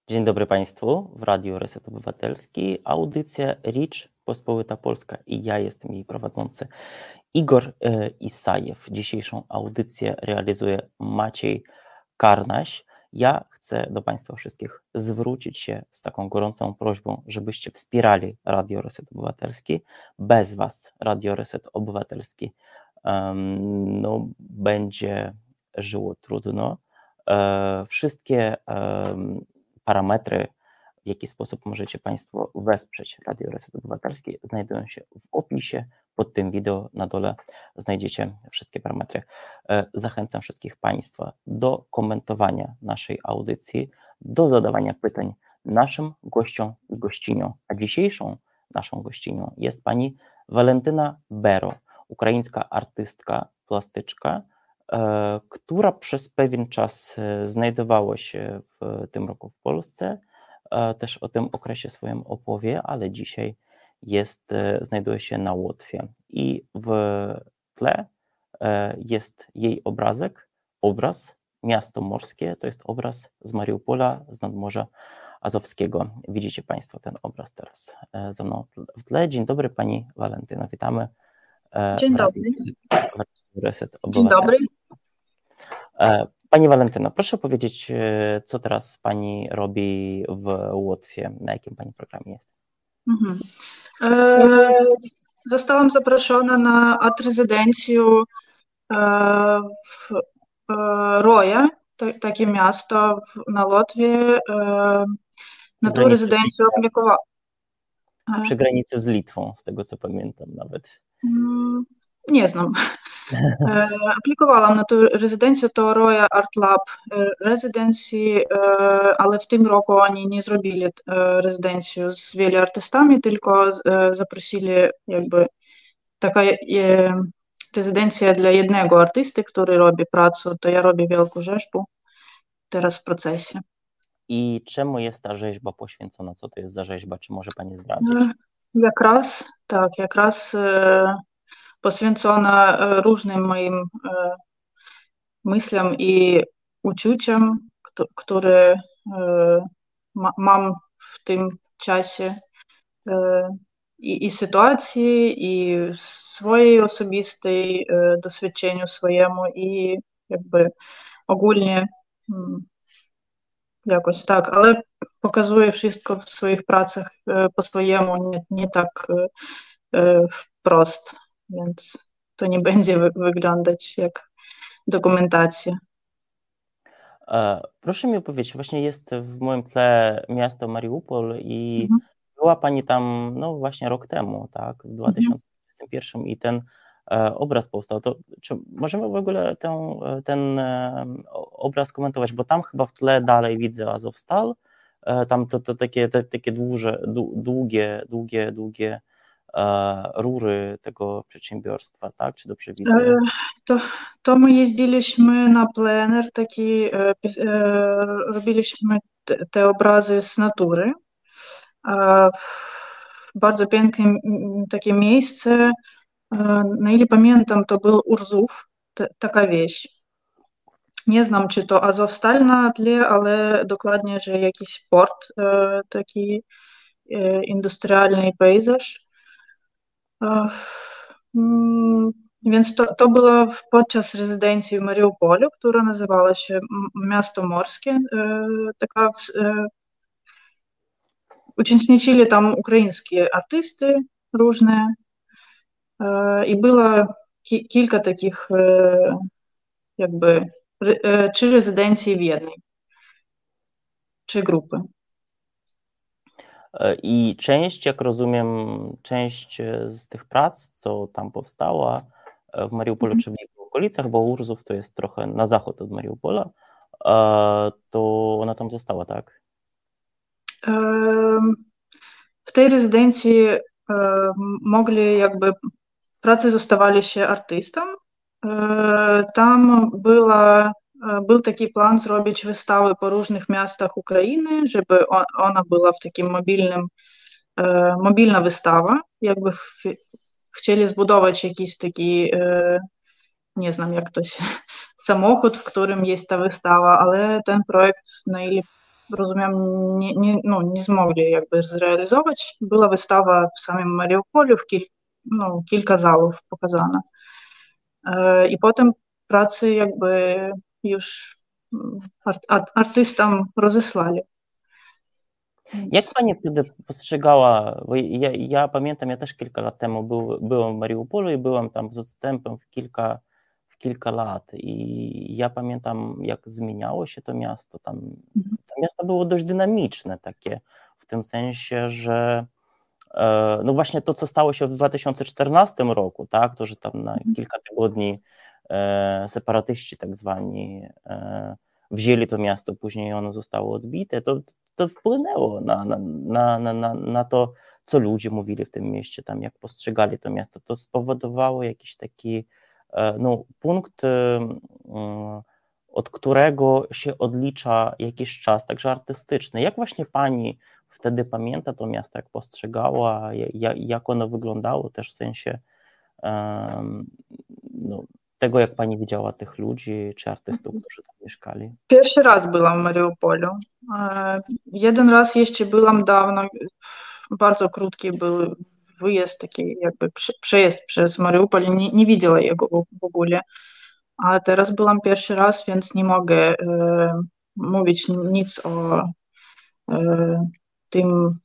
Dzień dobry Państwu, w Radiu Reset Obywatelski, audycja Ricz Pospolita Polska i ja jestem jej prowadzący Igor Isajew. Dzisiejszą audycję realizuje Maciej Karnaś. Ja chcę do Państwa wszystkich zwrócić się z taką gorącą prośbą, żebyście wspierali Radio Reset Obywatelski. Bez Was Radio Reset Obywatelski będzie żyło trudno. Wszystkie parametry, w jaki sposób możecie Państwo wesprzeć Radio Reset Obywatelski, znajdują się w opisie pod tym wideo. Na dole znajdziecie wszystkie parametry. Zachęcam wszystkich Państwa do komentowania naszej audycji, do zadawania pytań naszym gościom i gościniom. A dzisiejszą naszą gościnią jest pani Walentyna Bero, ukraińska artystka, plastyczka, która przez pewien czas znajdowała się w tym roku w Polsce. Też o tym okresie swoim opowie, ale dzisiaj znajduje się na Łotwie. I w tle jest jej obraz Miasto Morskie, to jest obraz z Mariupola, z Nadmorza Azowskiego. Widzicie Państwo ten obraz teraz za mną w tle. Dzień dobry Pani Walentyno, witamy. Dzień dobry. Reset Dzień dobry. Pani Walentyno, proszę powiedzieć, co teraz Pani robi w Łotwie, na jakim Pani programie jest? Zostałam zaproszona na art-rezydencję w Roje, takie miasto na Łotwie. Na tą rezydencję aplikowałam. Przy granicy z Litwą, z tego co pamiętam nawet. Nie znam. Aplikowałam na tę rezydencję, to Roya Art Lab Residency, ale w tym roku oni nie zrobili rezydencji z wieloma artystami, tylko zaprosili jakby taka rezydencja dla jednego artysty, który robi pracę, to ja robię wielką rzeźbę teraz w procesie. I czemu jest ta rzeźba poświęcona? Co to jest za rzeźba? Czy może Pani zdradzić? Jak raz poświęcona różnym moim myślom i uczuciom, które mam w tym czasie i sytuacji, i swojej osobistej doświadczeniu swojemu i jakby ogólnie jakoś tak, ale pokazuję wszystko w swoich pracach po swojemu, nie tak wprost, więc to nie będzie wyglądać jak dokumentacja. Proszę mi opowiedzieć, właśnie jest w moim tle miasto Mariupol i była Pani tam właśnie rok temu, tak, w 2021 i ten obraz powstał. To czy możemy w ogóle ten obraz komentować, bo tam chyba w tle dalej widzę Azovstal, tam to takie długie rury tego przedsiębiorstwa, tak? Czy dobrze widzę? To my jeździliśmy na plener, taki robiliśmy te obrazy z natury. Bardzo piękne takie miejsce. Na ile pamiętam, to był Urzów, taka wieś. Nie znam, czy to Azovstal na tle, ale dokładnie, że jakiś port, taki industrialny pejzaż. Więc to było podczas rezydencji w Mariupolu, która nazywała się Miasto Morskie. Uczestniczyli tam ukraińskie artysty różne i było kilka takich jakby 3 rezydencje w jednej, 3 grupy. I część, jak rozumiem, część z tych prac, co tam powstała w Mariupolu czy w jego okolicach, bo Urzów to jest trochę na zachód od Mariupola, to ona tam została, tak? W tej rezydencji mogli jakby, pracy zostawali się artystom. Tam był taki plan zrobić wystawę po różnych miastach Ukrainy, żeby ona była w takim mobilna wystawa. Jakby chcieli zbudować jakiś taki, nie znam jak to się, samochód, w którym jest ta wystawa, ale ten projekt, na ile rozumiem, nie zmogli jakby zrealizować. Była wystawa w samym Mariupolu, kilka zalów pokazano. I potem pracy jakby już artystom rozesłali. Jak pani wtedy postrzegała, bo ja pamiętam, ja też kilka lat temu byłem w Mariupolu i byłem tam z odstępem w kilka lat i ja pamiętam, jak zmieniało się to miasto. To miasto było dość dynamiczne takie, w tym sensie, że no właśnie to, co stało się w 2014 roku, tak, to, że tam na kilka tygodni separatyści tak zwani wzięli to miasto, później ono zostało odbite, to wpłynęło na to, co ludzie mówili w tym mieście, tam jak postrzegali to miasto. To spowodowało jakiś taki punkt, od którego się odlicza jakiś czas, także artystyczny. Jak właśnie pani wtedy pamięta to miasto, jak postrzegała, jak ono wyglądało też w sensie tego, jak pani widziała tych ludzi czy artystów, którzy tam mieszkali? Pierwszy raz byłam w Mariupolu. Jeden raz jeszcze byłam dawno, bardzo krótki był wyjazd, taki jakby przejeżdż przez Mariupol, nie widziała jego w ogóle. A teraz byłam pierwszy raz, więc nie mogę mówić nic o tym,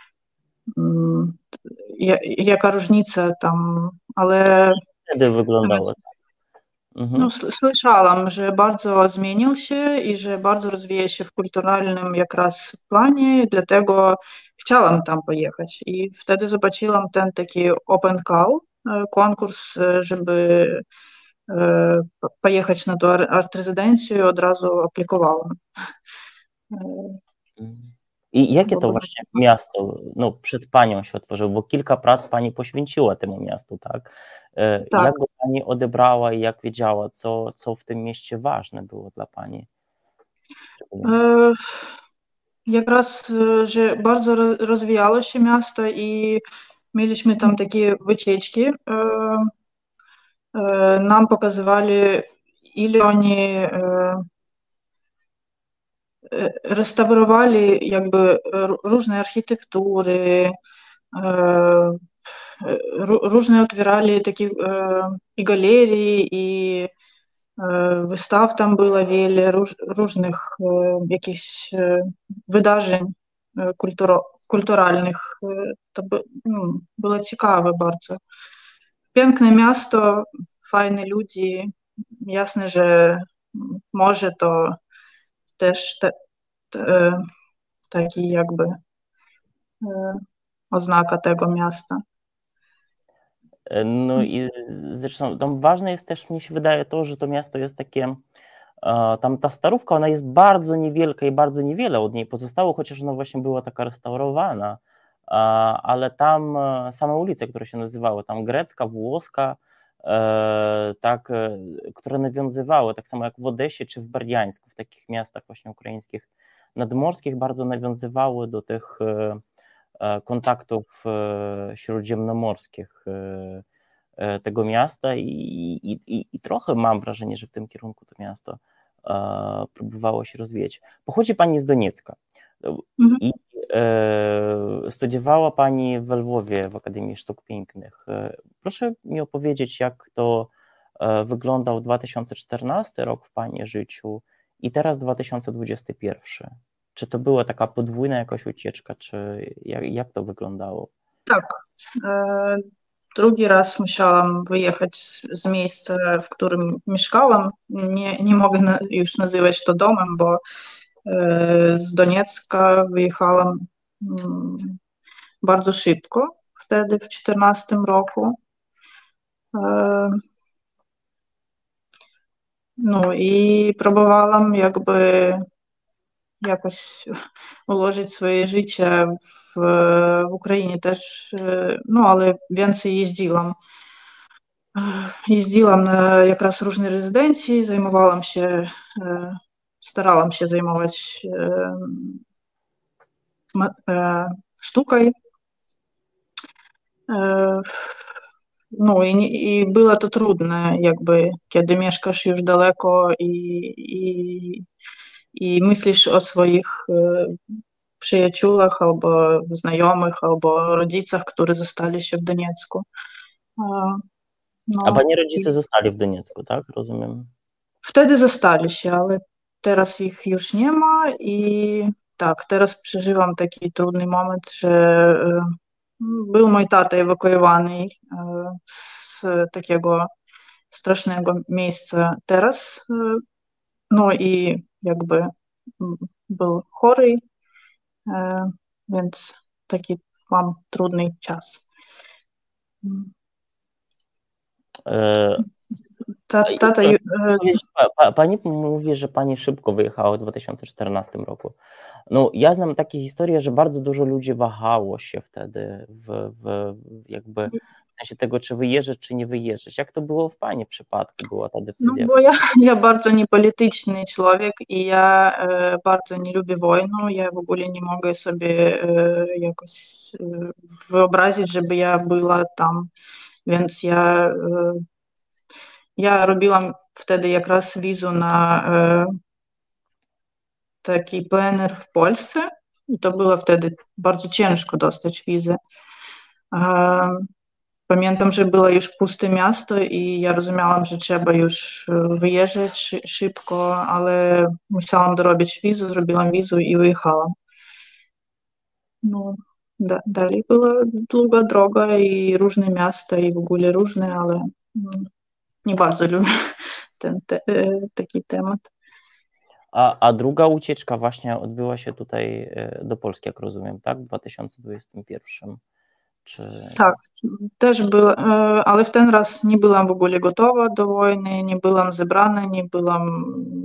jaka różnica tam, ale Wtedy wyglądało. Słyszałam, że bardzo zmienił się i że bardzo rozwija się w kulturalnym jakraz planie, dlatego chciałam tam pojechać. I wtedy zobaczyłam ten taki open call, konkurs, żeby pojechać na tą art-rezydencję i od razu aplikowałam. I jakie to właśnie miasto przed panią się otworzyło, bo kilka prac pani poświęciła temu miastu, tak? Tak. Jak go pani odebrała i jak wiedziała, co w tym mieście ważne było dla pani? Якраз, że bardzo rozwijało się miasto i mieliśmy tam takie wycieczki. Nam pokazywali, ile oni restaurowali jakby różne architektury, różne otwierali takie i galerie, i wystaw tam było wiele, różnych jakichś wydarzeń kulturalnych. To było ciekawe bardzo. Piękne miasto, fajne ludzie. Jasne, że może to też taki jakby oznaka tego miasta. No i zresztą tam ważne jest też, mnie się wydaje, to, że to miasto jest takie, tam ta Starówka, ona jest bardzo niewielka i bardzo niewiele od niej pozostało, chociaż ona właśnie była taka restaurowana, ale tam same ulice, które się nazywały, tam grecka, włoska, tak, które nawiązywały, tak samo jak w Odesie czy w Berdiańsku, w takich miastach właśnie ukraińskich nadmorskich, bardzo nawiązywały do tych kontaktów śródziemnomorskich tego miasta i trochę mam wrażenie, że w tym kierunku to miasto próbowało się rozwijać. Pochodzi pani z Doniecka i studiowała pani w Lwowie w Akademii Sztuk Pięknych. Proszę mi opowiedzieć, jak to wyglądał 2014 rok w pani życiu i teraz 2021. Czy to była taka podwójna jakaś ucieczka, czy jak to wyglądało? Tak. Drugi raz musiałam wyjechać z miejsca, w którym mieszkałam. Nie mogę już nazywać to domem, bo z Doniecka wyjechałam bardzo szybko, wtedy w 2014 roku. No i próbowałam jakby jakoś ułożyć swoje życie w Ukrainie też, no ale więcej jeździłam. Jeździłam na jakraz różne rezydencje, starałam się zajmować sztuką. No i było to trudne, jakby kiedy mieszkasz już daleko i i myślisz o swoich przyjaciółach albo znajomych, albo rodzicach, którzy zostali się w Doniecku. A No, pani rodzice zostali w Doniecku, tak? Rozumiem. wtedy zostali się, ale teraz ich już nie ma i tak, teraz przeżywam taki trudny moment, że był mój tata ewakuowany z takiego strasznego miejsca teraz, no i jakby był chory, więc taki mam trudny czas. E, Tata, Pani mówi, że pani szybko wyjechała w 2014 roku. No, ja znam takie historie, że bardzo dużo ludzi wahało się wtedy jakby w sensie tego, czy wyjeżdżać, czy nie wyjeżdżać. Jak to było w pani przypadku, była ta no decyzja? bo ja bardzo niepolityczny człowiek i ja bardzo nie lubię wojny. Ja w ogóle nie mogę sobie jakoś wyobrazić, żeby ja była tam. Więc ja robiłam wtedy якраз wizę na taki plener w Polsce i to było wtedy bardzo ciężko dostać wizę. Pamiętam, że było już puste miasto i ja rozumiałam, że trzeba już wyjeżdżać szybko, ale musiałam dorobić wizę, zrobiłam wizę i wyjechałam. No, dalej była długa droga i różne miasta i w ogóle różne, ale nie bardzo lubię taki temat. A druga ucieczka właśnie odbyła się tutaj do Polski, jak rozumiem, tak? W 2021. Czy... Tak, też była, ale w ten raz nie byłam w ogóle gotowa do wojny, nie byłam zebrana, nie byłam...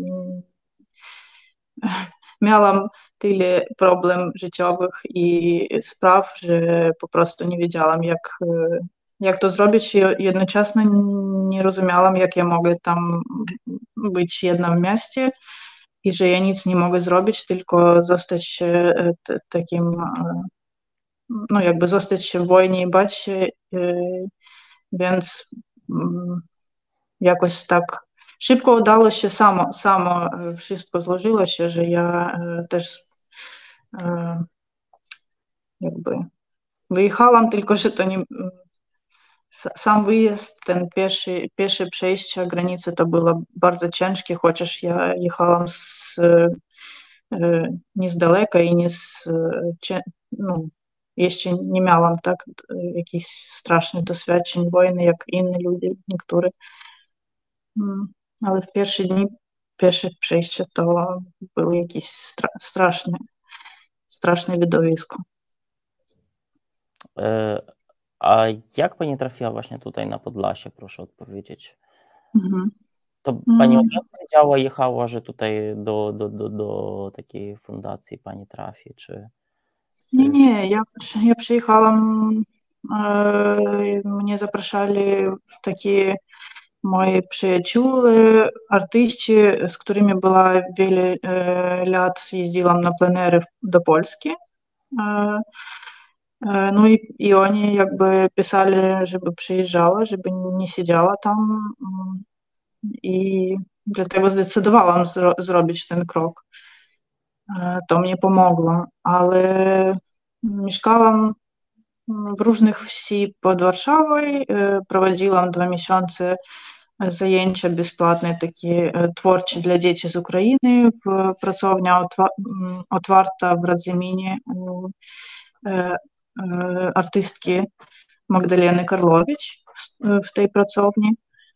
Miałam tyle problem życiowych i spraw, że po prostu nie wiedziałam, jak to zrobić i jednocześnie nie rozumiałam, jak ja mogę tam być w jednym mieście i że ja nic nie mogę zrobić, tylko zostać takim, no jakby zostać się w wojnie i bać się, więc jakoś tak szybko udało się, samo wszystko złożyło się, że ja też jakby wyjechałam, tylko że to nie... Sam wyjazd, ten pierwsze przejście granicy to było bardzo ciężkie, chociaż ja jechałam nie z daleka i nie no, jeszcze nie miałam tak jakichś strasznych doświadczeń wojny, jak inni ludzie, niektórzy. Ale w pierwsze dni, pierwsze przejście to było jakieś straszne widowisko. A jak pani trafiła właśnie tutaj na Podlasie, proszę odpowiedzieć? To pani od razu wiedziała, jechała, że tutaj do takiej fundacji pani trafi, czy... Nie, ja przyjechałam, mnie zapraszali takie moi przyjaciółe, artyści, z którymi była wiele lat jeździłam na plenery do Polski. No i oni jakby pisali, żeby przyjeżdżała, żeby nie siedziała tam i dlatego zdecydowałam zrobić ten krok. To mnie pomogło, ale mieszkałam w różnych wsi pod Warszawą, prowadziłam 2 miesiące zajęcia bezpłatne, takie twórcze dla dzieci z Ukrainy, pracownia otwarta w Radzyminie artystki Magdaleny Karlowicz w tej pracowni.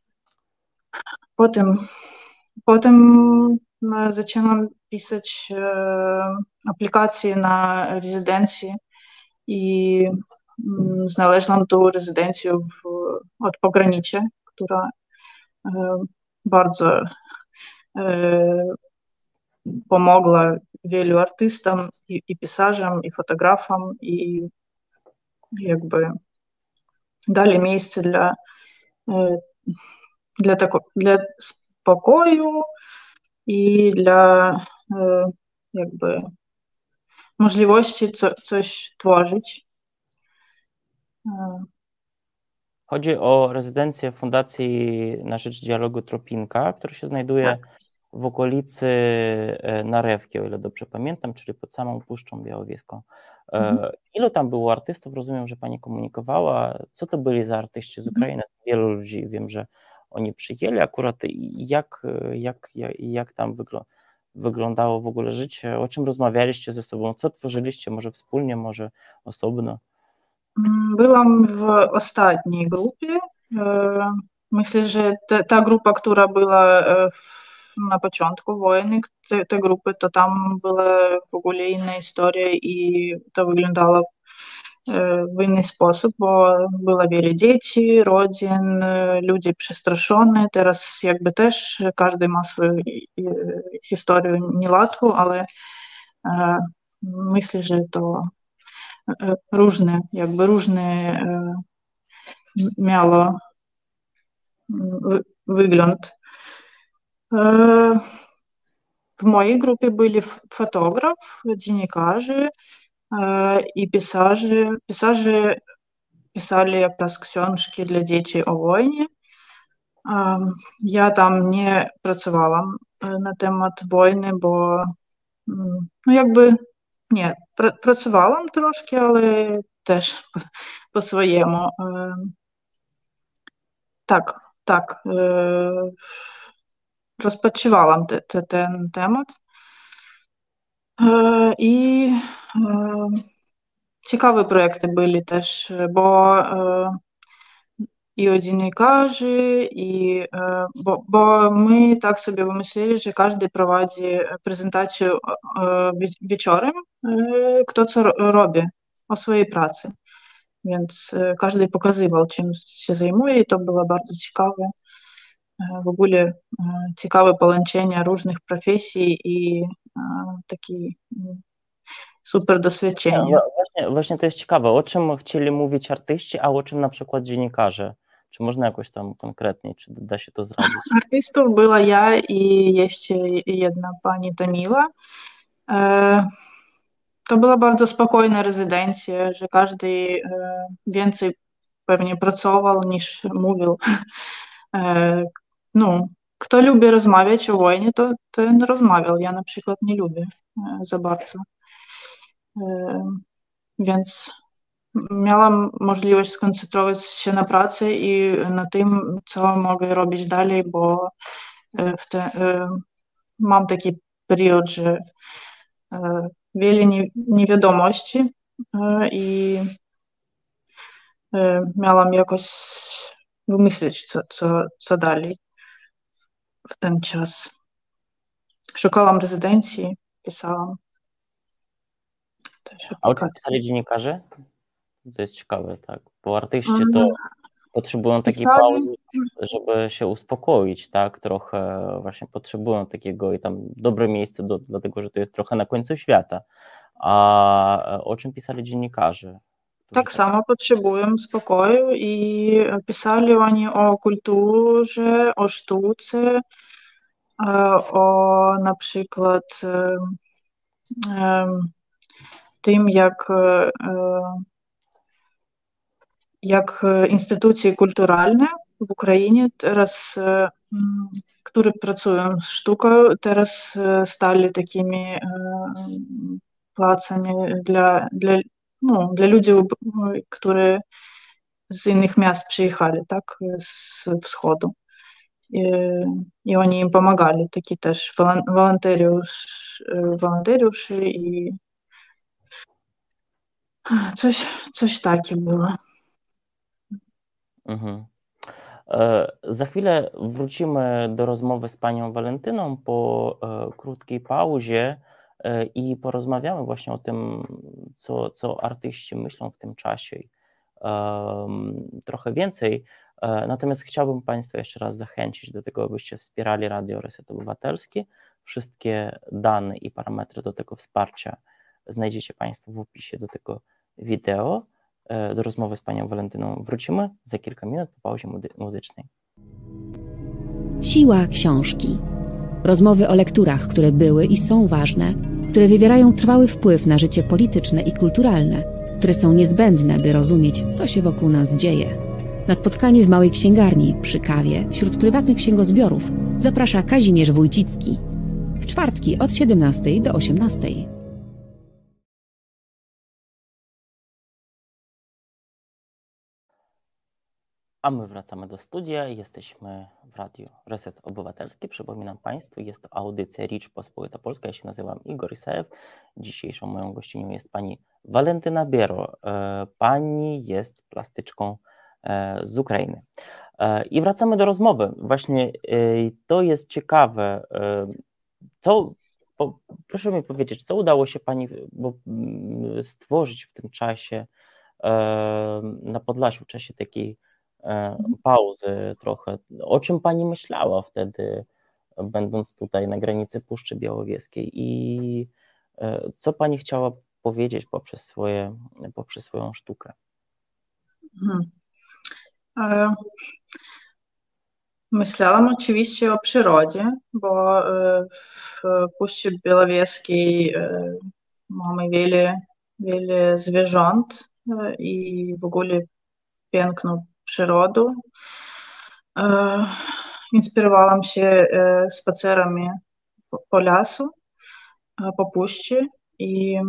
Potem zaczęłam pisać aplikacje na rezydencję i znalazłam tą rezydencję od pogranicza, która bardzo pomogła wielu artystom i pisarzom, i fotografom, i jakby dali miejsce dla spokoju i dla jakby możliwości coś tworzyć. Chodzi o rezydencję Fundacji na Rzecz Dialogu Tropinka, która się znajduje w okolicy Narewki, o ile dobrze pamiętam, czyli pod samą Puszczą Białowieską. Ilu tam było artystów? Rozumiem, że pani komunikowała. Co to byli za artyści z Ukrainy? Wielu ludzi, wiem, że oni przyjęli akurat. Jak tam wyglądało w ogóle życie? O czym rozmawialiście ze sobą? Co tworzyliście? Może wspólnie, może osobno? Byłam w ostatniej grupie. Myślę, że ta grupa, która była na początku wojny, te grupy, to tam była w ogóle inna historia i to wyglądało w inny sposób, bo było wiele dzieci, rodzin, ludzie przestraszeni. Teraz jakby też każdy ma swoją historię niełatwą, ale myślę, że to różne miało wygląd. W mojej grupie byli fotograf, dziennikarze i pisarze. Pisarze pisali jakoś książki dla dzieci o wojnie. Ja tam nie pracowałam na temat wojny, bo no jakby nie, pracowałam troszkę, ale też po swojemu. Tak. Rozpatrywałam ten temat. I ciekawe projekty byli też, bo i o dziennikarzy, bo my tak sobie wymyślili, że każdy prowadzi prezentację wieczorem, kto co robi o swojej pracy. Więc każdy pokazywał, czym się zajmuje i to było bardzo ciekawe. W ogóle ciekawe połączenie różnych profesji i takie super doświadczenie. Właśnie to jest ciekawe. O czym chcieli mówić artyści, a o czym na przykład dziennikarze? Czy można jakoś tam konkretniej, czy da się to zdradzić? Artystów była ja i jeszcze jedna pani Tamila. To była bardzo spokojna rezydencja, że każdy więcej pewnie pracował niż mówił. No, kto lubi rozmawiać o wojnie, to ten rozmawiał. Ja na przykład nie lubię za bardzo. Więc miałam możliwość skoncentrować się na pracy i na tym, co mogę robić dalej, bo mam taki period, że wiele niewiadomości i miałam jakoś wymyślić, co dalej w ten czas. Szukałam rezydencji, pisałam. A o czym pisali dziennikarze? To jest ciekawe, tak, bo artyści to potrzebują takiej pauzy, żeby się uspokoić, tak, trochę właśnie potrzebują takiego i tam dobre miejsce, dlatego że to jest trochę na końcu świata. A o czym pisali dziennikarze? Tak samo potrzebują spokoju i pisali oni o kulturze, o sztuce, o na przykład tym, jak instytucje kulturalne w Ukrainie teraz, które pracują z sztuką, teraz stali takimi placami dla ludzi, którzy z innych miast przyjechali, tak, z wschodu. I oni im pomagali, taki też wolontariusze i coś takiego było. Za chwilę wrócimy do rozmowy z panią Walentyną po krótkiej pauzie i porozmawiamy właśnie o tym, co artyści myślą w tym czasie. Trochę więcej. Natomiast chciałbym państwa jeszcze raz zachęcić do tego, abyście wspierali Radio Reset Obywatelski. Wszystkie dane i parametry do tego wsparcia znajdziecie państwo w opisie do tego wideo. Do rozmowy z panią Walentyną wrócimy za kilka minut po pauzie muzycznej. Siła książki. Rozmowy o lekturach, które były i są ważne, które wywierają trwały wpływ na życie polityczne i kulturalne, które są niezbędne, by rozumieć, co się wokół nas dzieje. Na spotkanie w małej księgarni, przy kawie, wśród prywatnych księgozbiorów zaprasza Kazimierz Wójcicki. W czwartki od 17 do 18. A my wracamy do studia. Jesteśmy w Radiu Reset Obywatelski. Przypominam Państwu, jest to audycja Rzeczpospolita Polska. Ja się nazywam Igor Isajew. Dzisiejszą moją gościnią jest pani Walentyna Biero. Pani jest plastyczką z Ukrainy. I wracamy do rozmowy. Właśnie to jest ciekawe. Proszę mi powiedzieć, co udało się pani stworzyć w tym czasie na Podlasiu, w czasie takiej pauzy trochę. O czym pani myślała wtedy, będąc tutaj na granicy Puszczy Białowieskiej, i co pani chciała powiedzieć poprzez swoją sztukę? Myślałam oczywiście o przyrodzie, bo w Puszczy Białowieskiej mamy wiele zwierząt i w ogóle piękną przyrodę. Inspirowałam się spacerami po lasu, po puszczy i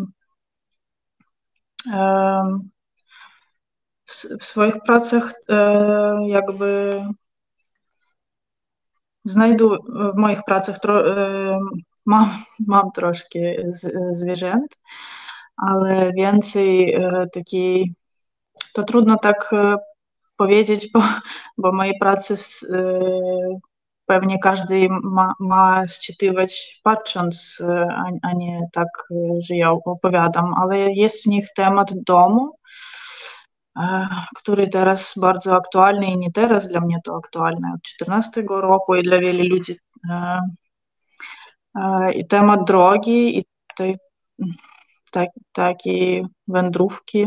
w swoich pracach jakby w moich pracach mam troszkę zwierząt, ale więcej takiej, to trudno tak powiedzieć, bo moje prace pewnie każdy ma sczytywać patrząc, a nie tak, że ja opowiadam, ale jest w nich temat domu, który teraz bardzo aktualny i nie teraz, dla mnie to aktualne od 2014 roku i dla wielu ludzi. I temat drogi i takiej wędrówki.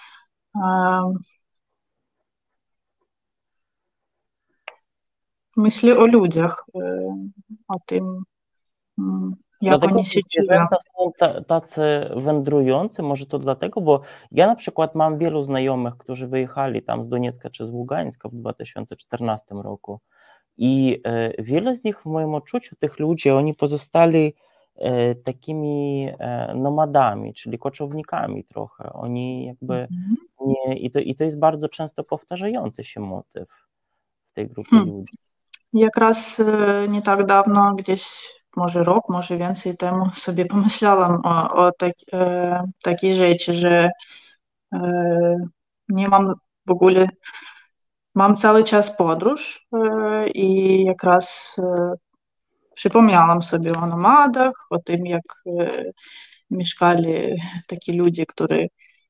Myślę o ludziach, o tym, jak oni się czują. Zwierzęta są tacy wędrujący, może to dlatego, bo ja na przykład mam wielu znajomych, którzy wyjechali tam z Doniecka czy z Ługańska w 2014 roku i wiele z nich w moim odczuciu, tych ludzi, oni pozostali takimi nomadami, czyli koczownikami trochę. Oni jakby nie, i to jest bardzo często powtarzający się motyw w tej grupie ludzi. Jak raz nie tak dawno, gdzieś może rok, może więcej temu sobie pomyślałam o takiej rzeczy, że nie mam w ogóle, mam cały czas podróż i jak raz przypomniałam sobie o nomadach, o tym, jak mieszkali takie ludzie, którzy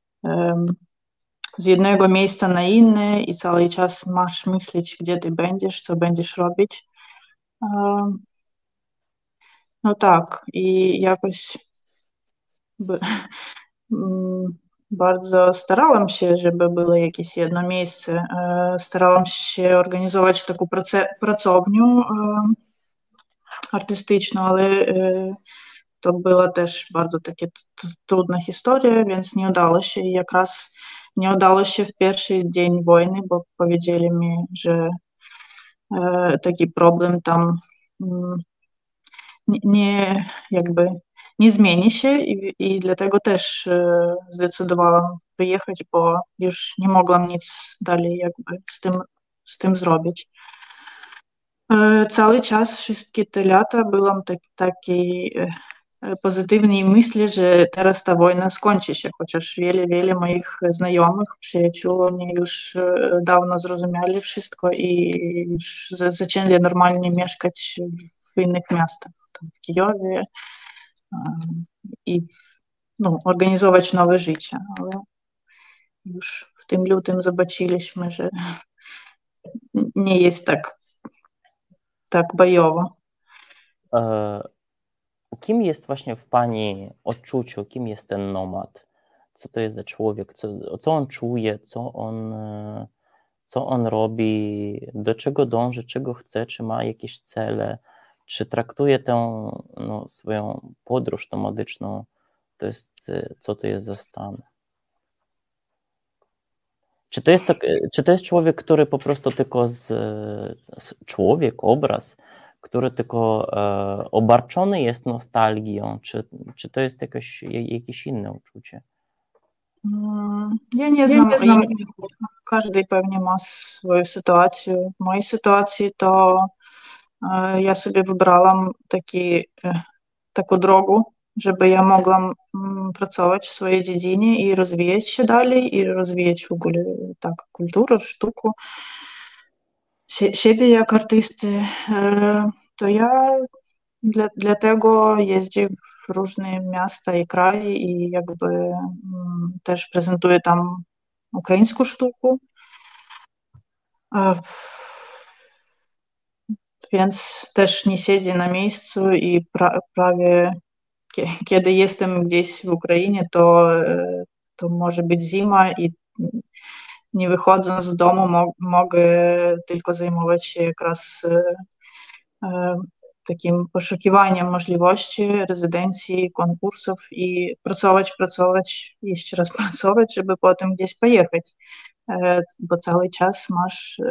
z jednego miejsca na inne i cały czas masz myśleć, gdzie ty będziesz, co będziesz robić. No tak, i jakoś bardzo starałam się, żeby było jakieś jedno miejsce. Starałam się organizować taką pracownię artystyczną, ale to była też bardzo taka trudna historia, więc nie udało się. I jak raz nie udało się w pierwszy dzień wojny, bo powiedzieli mi, że taki problem tam nie zmieni się i dlatego też zdecydowałam wyjechać, bo już nie mogłam nic dalej jakby z tym zrobić. Cały czas, wszystkie te lata byłam takiej pozytywnej myśli, że teraz ta wojna skończy się, chociaż wiele moich znajomych, przyjaciół, oni już dawno zrozumieli wszystko i już zaczęli normalnie mieszkać w innych miastach, tam w Kijowie i organizować nowe życie, ale już w tym lutym zobaczyliśmy, że nie jest tak bojowo. Kim jest właśnie w pani odczuciu, kim jest ten nomad? Co to jest za człowiek? Co on czuje? Co on robi? Do czego dąży? Czego chce? Czy ma jakieś cele? Czy traktuje tę swoją podróż nomadyczną? Co to jest za stan? Czy to jest człowiek, który po prostu tylko człowiek, obraz, który tylko obarczony jest nostalgią, czy to jest jakieś inne uczucie? Ja nie znam. Każdy pewnie ma swoją sytuację. W mojej sytuacji to ja sobie wybrałam taką drogę, żeby ja mogła pracować w swojej dziedzinie i rozwijać się dalej, i rozwijać w ogóle tak kulturę, sztukę, siebie jak artysty. To ja dlatego jeżdżę w różne miasta i kraje i jakby też prezentuję tam ukraińską sztukę. Więc też nie siedzę na miejscu i prawie kiedy jestem gdzieś w Ukrainie, to może być zima i nie wychodząc z domu mogę tylko zajmować się якраз takim poszukiwaniem możliwości rezydencji, konkursów i pracować, jeszcze raz pracować, żeby potem gdzieś pojechać, bo cały czas masz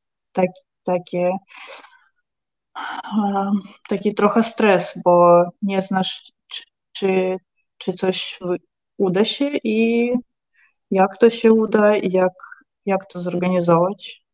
taki trochę stres, bo nie znasz, czy coś uda się i jak to się uda i jak to zorganizować.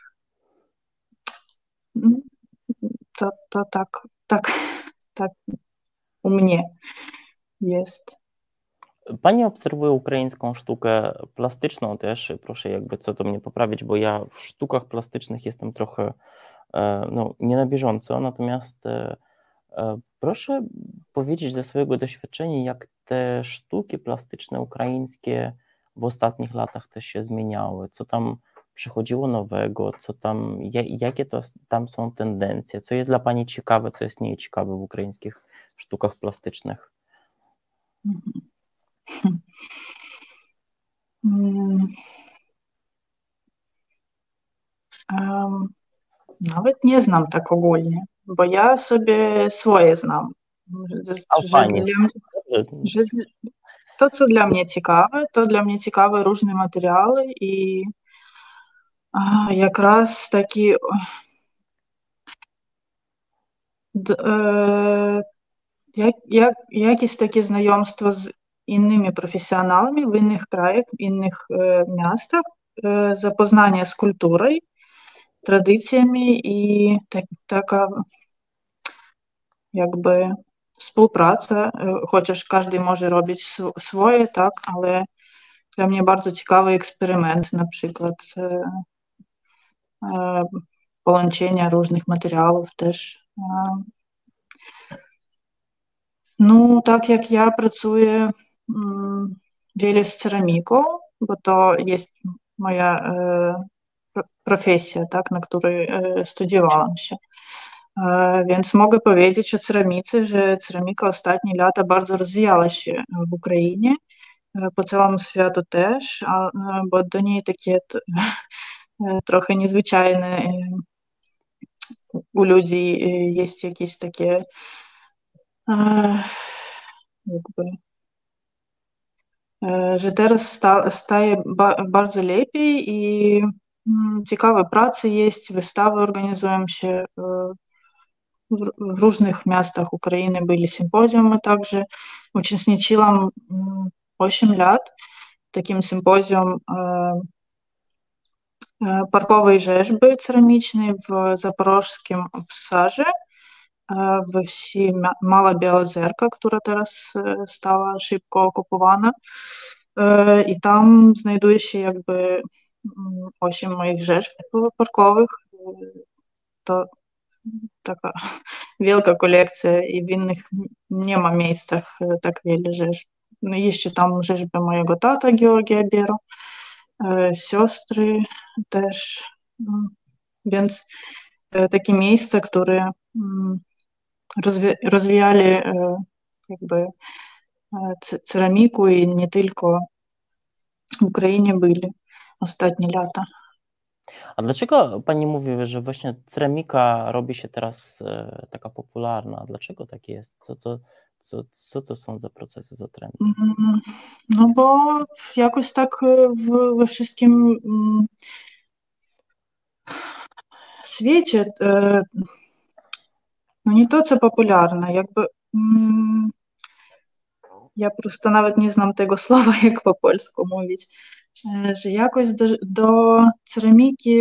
To tak u mnie jest. Pani obserwuje ukraińską sztukę plastyczną też, proszę jakby co to mnie poprawić, bo ja w sztukach plastycznych jestem trochę nie na bieżąco, natomiast proszę powiedzieć ze swojego doświadczenia, jak te sztuki plastyczne ukraińskie w ostatnich latach też się zmieniały, co tam przychodziło nowego, jakie to tam są tendencje, co jest dla Pani ciekawe, co jest nieciekawe w ukraińskich sztukach plastycznych? Nawet nie znam tak ogólnie, bo ja sobie swoje znam. To, co dla mnie ciekawe, różne materiały i якраз такі якісь такі знайомства з innymi profesjonalami w innych krajach, w innych miastach, zapoznanie z kulturą, tradycjami i taka jakby współpraca, chociaż każdy może robić swoje, tak, ale dla mnie bardzo ciekawy eksperyment, na przykład połączenia różnych materiałów też. No, tak jak ja pracuję wiele z ceramiką, bo to jest moja profesja, tak, na której studiowałam się. Więc mogę powiedzieć o ceramice, że ceramika ostatnie lata bardzo rozwijała się w Ukrainie, po całym światu też, bo do niej takie trochę niezwyczajne u ludzi jest jakieś takie jakby, że teraz staje bardzo lepiej i ciekawe prace jest, wystawy organizują się w różnych miastach Ukrainy, byli sympozjumy także. Uczestniczyłam 8 lat w takim sympozjum parkowej rzeźby ceramicznej w zaporożskim obszarze, we wsi Mała Białozerka, która teraz stała szybko okupowana. I tam znajduje się jakby 8 moich rzeźb parkowych. To taka wielka kolekcja i w innych nie ma miejscach tak wiele rzeźb. No jeszcze tam rzeźby mojego tata Georgia Biero, siostry też. Więc takie miejsca, które rozwijali jakby ceramiku i nie tylko w Ukrainie byli ostatnie lata. A dlaczego Pani mówi, że właśnie ceramika robi się teraz taka popularna? Dlaczego tak jest? Co to są za procesy, za trendy? No bo jakoś tak we wszystkim świecie no nie to, co popularne, jakby ja prosto nawet nie znam tego słowa, jak po polsku mówić, że jakoś do ceramiki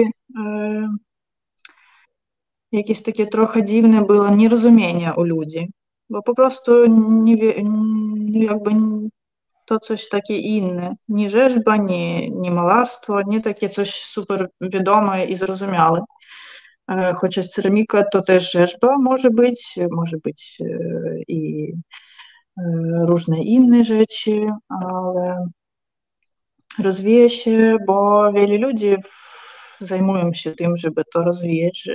jakieś takie trochę dziwne było nierozumienie u ludzi, bo po prostu jakby to coś takie inne, nie rzeźba, nie malarstwo, nie takie coś super wiadome i zrozumiałe. Chociaż ceramika to też rzeźba może być i różne inne rzeczy, ale rozwija się, bo wiele ludzi zajmują się tym, żeby to rozwijać,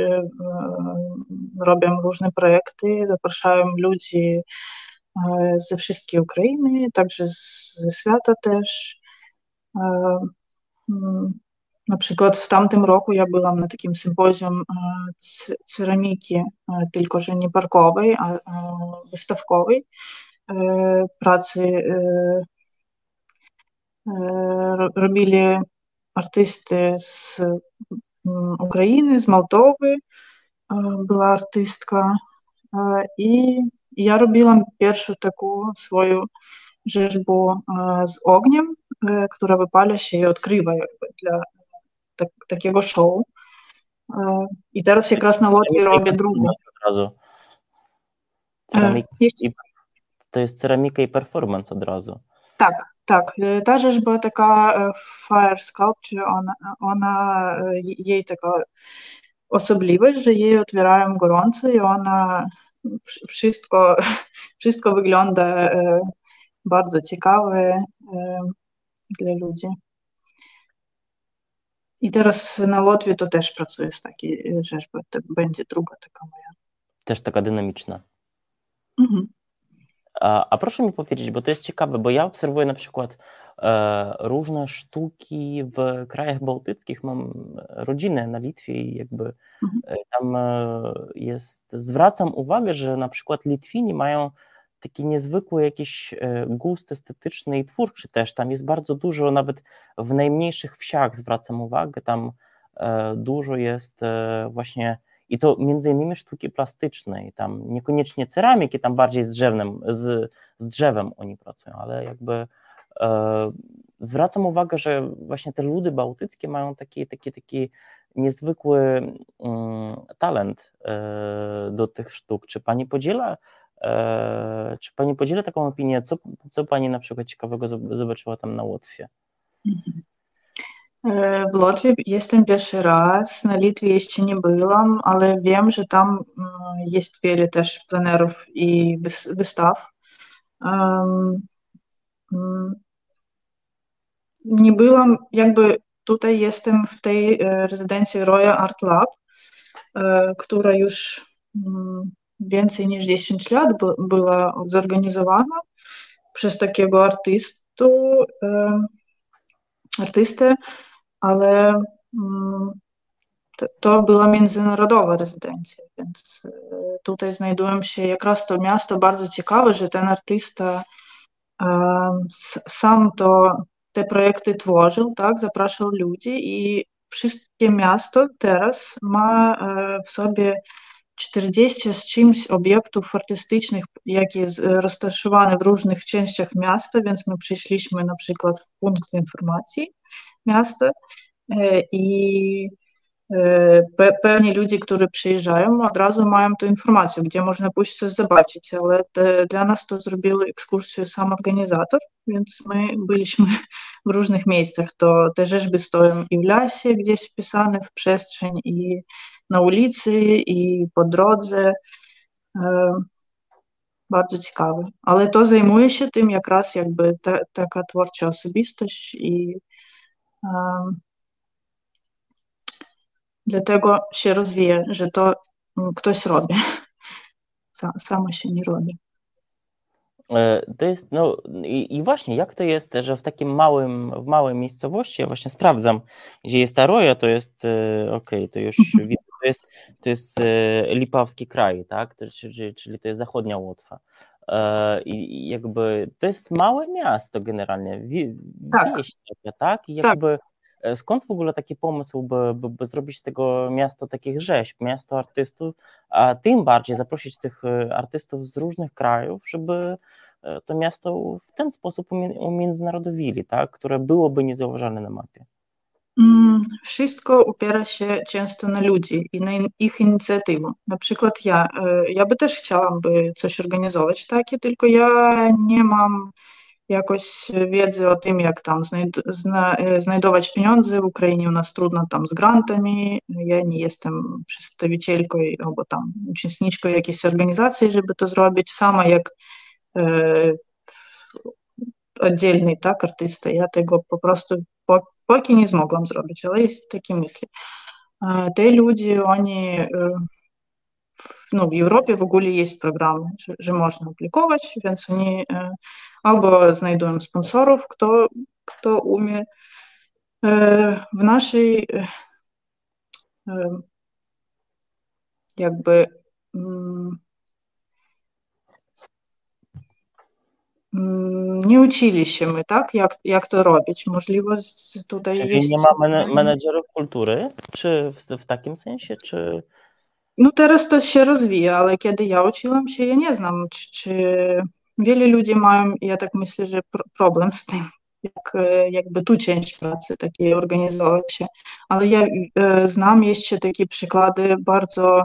robią różne projekty, zapraszają ludzi ze wszystkiej Ukrainy, także ze świata też. Na przykład w tamtym roku ja byłam na takim sympozjum ceramiki, tylko że nie parkowej, a wystawkowej, pracy robili artysty z Ukrainy, z Mołdowy, była artystka i ja robiłam pierwszą taką swoją rzeźbę z ogniem, która wypala się i odkrywa jakby dla takiego show. I teraz якраз na Łotwie robię drugą. Od razu. To jest ceramika i performance od razu. Tak. Ta rzeźba taka fire sculpture, jej taka osobliwość, że jej otwierają gorąco i ona wszystko wygląda bardzo ciekawe dla ludzi. I teraz na Łotwie to też pracuję z takiej rzeźby. To będzie druga taka moja. Też taka dynamiczna. Mhm. A proszę mi powiedzieć, bo to jest ciekawe, bo ja obserwuję na przykład różne sztuki w krajach bałtyckich, mam rodzinę na Litwie i jakby tam zwracam uwagę, że na przykład Litwini mają taki niezwykły jakiś gust estetyczny i twórczy też, tam jest bardzo dużo, nawet w najmniejszych wsiach zwracam uwagę, tam dużo jest właśnie i to między innymi sztuki plastycznej, tam niekoniecznie ceramiki, tam bardziej z drzewem oni pracują, ale jakby zwracam uwagę, że właśnie te ludy bałtyckie mają taki niezwykły talent do tych sztuk. Czy pani podziela taką opinię? Co pani na przykład ciekawego zobaczyła tam na Łotwie? W Łotwie jestem pierwszy raz, na Litwie jeszcze nie byłam, ale wiem, że tam jest wiele też plenerów i wystaw. Nie byłam, jakby tutaj jestem w tej rezydencji Roya Art Lab, która już więcej niż 10 lat była zorganizowana przez takiego artystę, ale to była międzynarodowa rezydencja, więc tutaj znajdują się jak to miasto bardzo ciekawe, że ten artysta sam te projekty tworzył, tak, zapraszał ludzi i wszystkie miasto teraz ma w sobie 40 z czymś obiektów artystycznych, jakie roztaszowane w różnych częściach miasta, więc my przyszliśmy na przykład w punkt informacji miasta i pewnie ludzie, którzy przyjeżdżają, od razu mają tę informację, gdzie można pójść coś zobaczyć, ale dla nas to zrobił ekskursję sam organizator, więc my byliśmy w różnych miejscach. Te rzeźby stoją i w lasie gdzieś wpisane w przestrzeń, i na ulicy, i po drodze. Bardzo ciekawe. Ale to zajmuje się tym raz jakby taka twórcza osobistość i dlatego się rozwija, że to ktoś robi. Samo się nie robi. To jest, i właśnie, jak to jest, że w takim w małej miejscowości, ja właśnie sprawdzam, gdzie jest ta Roja, to jest, to już widzę, to jest Lipawski kraj, tak, czyli to jest zachodnia Łotwa. I jakby to jest małe miasto generalnie, wieś taka, tak? I jakby skąd w ogóle taki pomysł, by zrobić z tego miasto takich rzeźb, miasto artystów, a tym bardziej zaprosić tych artystów z różnych krajów, żeby to miasto w ten sposób umiędzynarodowili, tak, które byłoby niezauważalne na mapie? Wszystko opiera się często na ludzi i na ich inicjatywę. Na przykład ja by też chciałam by coś organizować takie, tylko ja nie mam jakoś wiedzy o tym, jak tam znajdować pieniądze. W Ukrainie u nas trudno tam z grantami. Ja nie jestem przedstawicielką albo tam uczestniczką jakiejś organizacji, żeby to zrobić. Sama jak oddzielny tak, artysta, ja tego po prostu póki nie zmogłam zrobić, ale jest takie myśli. Te ludzie, oni, no w Europie w ogóle jest programy, że można aplikować, więc oni albo znajdują sponsorów, kto umie. W naszej jakby nie uczyli się my, tak, jak to robić. Możliwe tutaj Czyli jest... nie ma menedżerów kultury, czy w takim sensie, czy... No teraz to się rozwija, ale kiedy ja uczyłam się, ja nie znam, czy wiele ludzi mają, ja tak myślę, że problem z tym, jakby tu część pracy takiej organizować się, ale ja znam jeszcze takie przykłady bardzo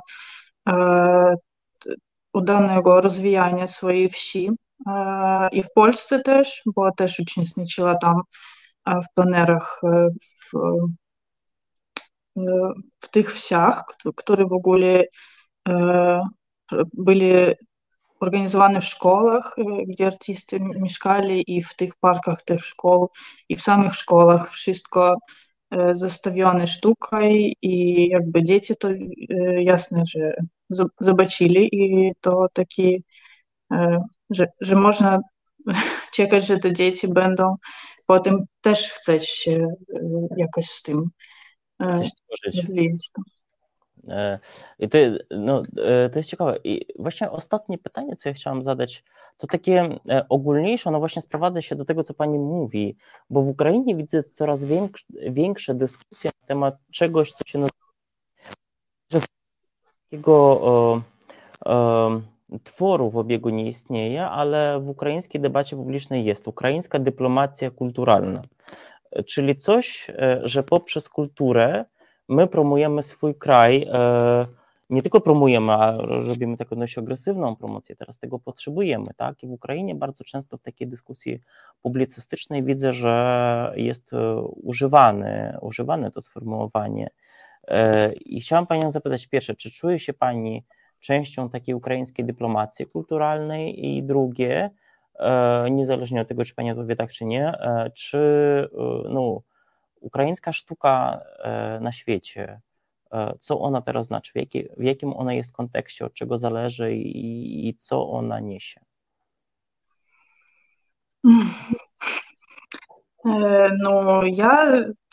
udanego rozwijania swojej wsi i w Polsce też, bo też uczestniczyła tam w plenerach w tych wsiach, które w ogóle byli organizowane w szkołach, gdzie artyści mieszkali i w tych parkach tych szkół i w samych szkołach wszystko zastawione sztuką i jakby dzieci to jasne, że zobaczyli i to taki, że można czekać, że te dzieci będą potem też chcieć się jakoś z tym rozwijać. I to jest ciekawe. I właśnie ostatnie pytanie, co ja chciałam zadać, to takie ogólniejsze, ono właśnie sprowadza się do tego, co pani mówi, bo w Ukrainie widzę coraz większe dyskusje na temat czegoś, co się nazywa, że takiego tworu w obiegu nie istnieje, ale w ukraińskiej debacie publicznej jest ukraińska dyplomacja kulturalna, czyli coś, że poprzez kulturę my promujemy swój kraj, nie tylko promujemy, a robimy taką dość agresywną promocję, teraz tego potrzebujemy, tak? I w Ukrainie bardzo często w takiej dyskusji publicystycznej widzę, że jest używane to sformułowanie. I chciałam panią zapytać pierwsze, czy czuje się pani częścią takiej ukraińskiej dyplomacji kulturalnej i drugie, niezależnie od tego, czy pani odpowie tak, czy nie, czy ukraińska sztuka na świecie, co ona teraz znaczy, w jakim ona jest kontekście, od czego zależy i co ona niesie? No ja,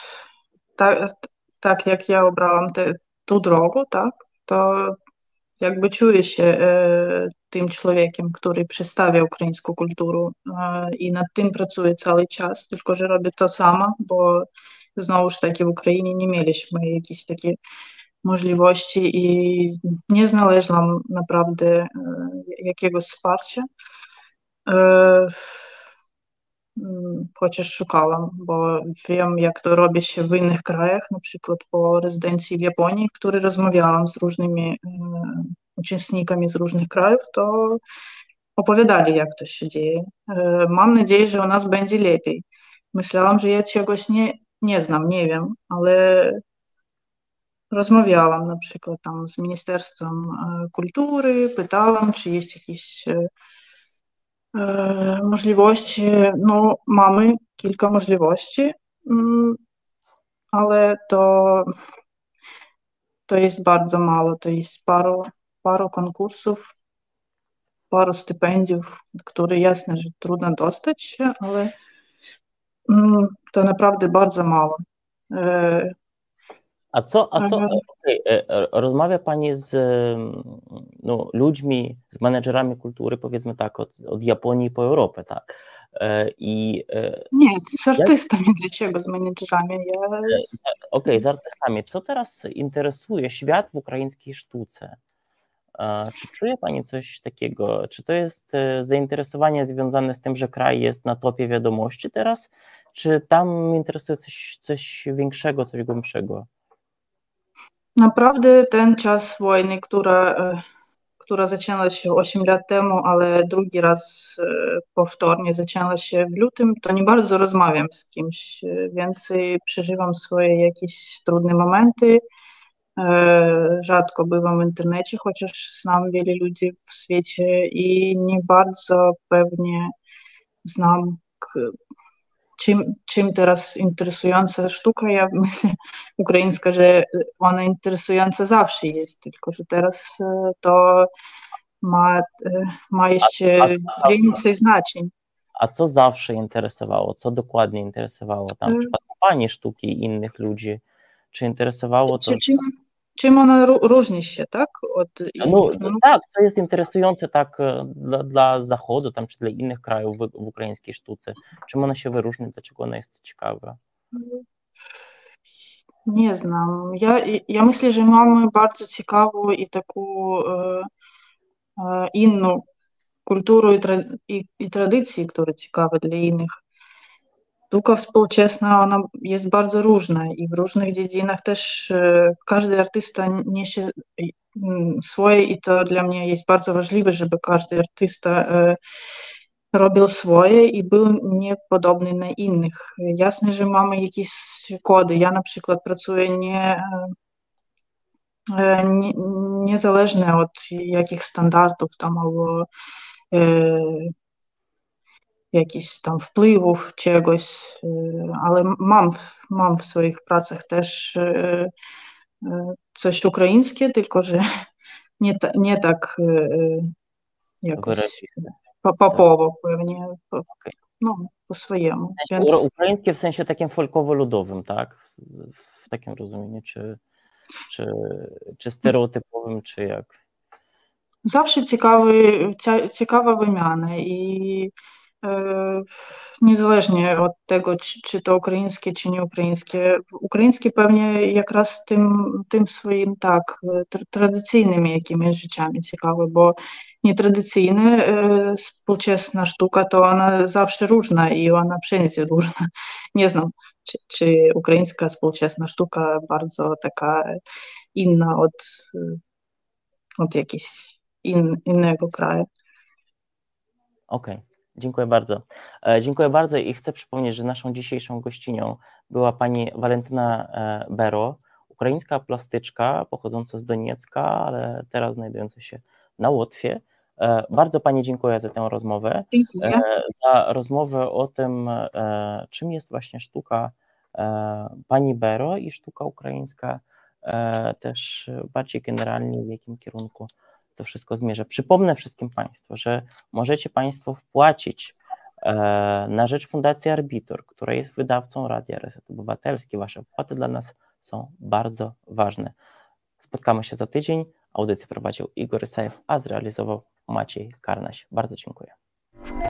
tak jak ja obrałam tą drogę, tak, to jakby czuję się tym człowiekiem, który przedstawia ukraińską kulturę i nad tym pracuję cały czas, tylko że robię to sama, bo znowuż taки w Ukrainie nie mieliśmy jakichś takich możliwości i nie znalazłam naprawdę jakiegoś wsparcia. Chociaż szukałam, bo wiem, jak to robi się w innych krajach, na przykład po rezydencji w Japonii, w której rozmawiałam z różnymi uczestnikami z różnych krajów, to opowiadali, jak to się dzieje. Mam nadzieję, że u nas będzie lepiej. Myślałam, że ja czegoś nie znam, nie wiem, ale rozmawiałam na przykład tam z Ministerstwem Kultury, pytałam, czy jest jakieś możliwości. No, mamy kilka możliwości, ale to jest bardzo mało. To jest paru konkursów, paru stypendiów, które jasne, że trudno dostać się, ale to naprawdę bardzo mało. Rozmawia pani z ludźmi, z menedżerami kultury, powiedzmy tak, od Japonii po Europę, tak? Nie, z artystami, dlaczego z menedżerami? Okej, z artystami. Co teraz interesuje świat w ukraińskiej sztuce? Czy czuje Pani coś takiego? Czy to jest zainteresowanie związane z tym, że kraj jest na topie wiadomości teraz? Czy tam interesuje coś większego, coś głębszego? Naprawdę ten czas wojny, która zaczęła się 8 lat temu, ale drugi raz powtórnie zaczęła się w lutym, to nie bardzo rozmawiam z kimś, więcej przeżywam swoje jakieś trudne momenty. Rzadko bywam w internecie, chociaż znam wiele ludzi w świecie i nie bardzo pewnie znam, czym teraz interesująca sztuka. Ja myślę, ukraińska, że ona interesująca zawsze jest, tylko że teraz to ma jeszcze więcej znaczeń. A co zawsze interesowało? Co dokładnie interesowało tam w przypadku Pani sztuki i innych ludzi? Czy interesowało to... Czym ona różni się, tak? Tak, co jest interesujące tak dla Zachodu tam, czy dla innych krajów w ukraińskiej sztuce? Czym ona się wyróżnia? Dlaczego ona jest ciekawa? Nie znam. Ja myślę, że mamy bardzo ciekawą i taką inną kulturę i tradycje, które ciekawe dla innych. Sztuka współczesna, ona jest bardzo różna i w różnych dziedzinach też każdy artysta niesie swoje i to dla mnie jest bardzo ważliwe, żeby każdy artysta robił swoje i był niepodobny na innych. Jasne, że mamy jakieś kody. Ja na przykład pracuję niezależnie od jakich standardów tam albo jakichś tam wpływów czegoś, ale mam w swoich pracach też coś ukraińskie, tylko że nie tak jakoś popowo pewnie, no, po swojemu. Więc... Ukraińskie w sensie takim folkowo-ludowym, tak? W takim rozumieniu, czy stereotypowym, czy jak? Zawsze ciekawa wymiana i niezależnie od tego, czy to ukraińskie, czy nie ukraińskie. Ukraińskie pewnie jak raz tym swoim tak tradycyjnymi jakimiś rzeczami ciekawe, bo nietradycyjne, współczesna sztuka to ona zawsze różna i ona wszędzie różna. Nie znam, czy ukraińska współczesna sztuka bardzo taka inna od jakiegoś innego kraju. Okej. Dziękuję bardzo. Dziękuję bardzo i chcę przypomnieć, że naszą dzisiejszą gościnią była pani Walentyna Bero, ukraińska plastyczka pochodząca z Doniecka, ale teraz znajdująca się na Łotwie. Bardzo pani dziękuję za tę rozmowę. Dziękuję. Za rozmowę o tym, czym jest właśnie sztuka pani Bero i sztuka ukraińska, też bardziej generalnie w jakim kierunku to wszystko zmierza. Przypomnę wszystkim Państwu, że możecie Państwo wpłacić na rzecz Fundacji Arbitor, która jest wydawcą Radia Reset Obywatelski. Wasze wpłaty dla nas są bardzo ważne. Spotkamy się za tydzień. Audycję prowadził Igor Isajew, a zrealizował Maciej Karnaś. Bardzo dziękuję.